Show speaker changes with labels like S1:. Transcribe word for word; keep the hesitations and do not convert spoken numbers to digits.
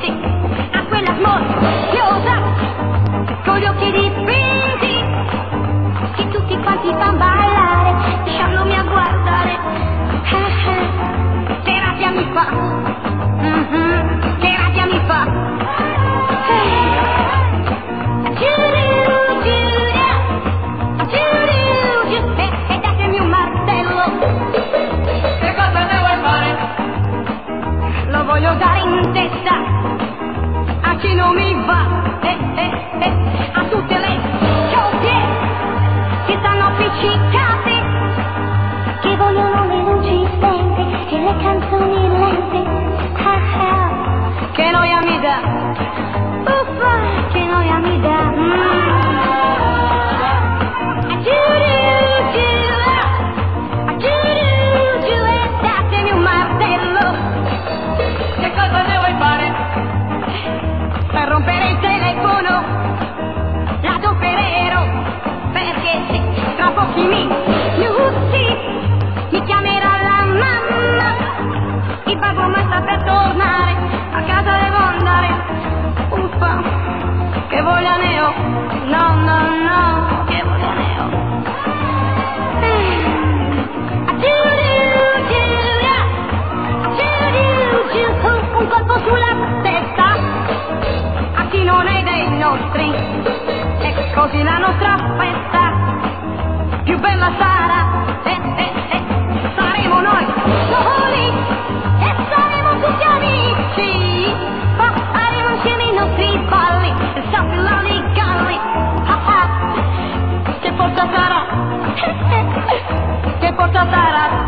S1: sì, a quella smorfiosa con gli occhi dipinti che tutti quanti fan ballare, lasciandomi a guardare. Eh, eh, che rabbia mi fa, mm-hmm, che rabbia mi fa. Eh. E datemi un martello.
S2: Che cosa ne vuoi fare?
S1: Lo voglio dare in testa a chi non mi va, eh, eh, eh, a tutte le coppie che stanno appiccicate, che vogliono le luci spente e le canzoni lente. Ah, ah. Che noia mi dà, uffa, che noia mi dà. Mm.
S2: Che cosa ne vuoi fare?
S1: Per rompere il telefono l'adoppererò, perché se tra pochi minuti mi chiamerà la mamma, il babbo ma sta per tornare, a casa devo andare. Uffa, che voglia ne ho, no no no, che voglia ne ho. Un colpo sulla testa a chi non è dei nostri, e così la nostra festa più bella sarà, eh, eh, eh. Saremo noi soli e saremo tutti amici, faremo insieme i nostri balli e sappiamo i galli. Ah, ah. Che forza sarà, che forza sarà.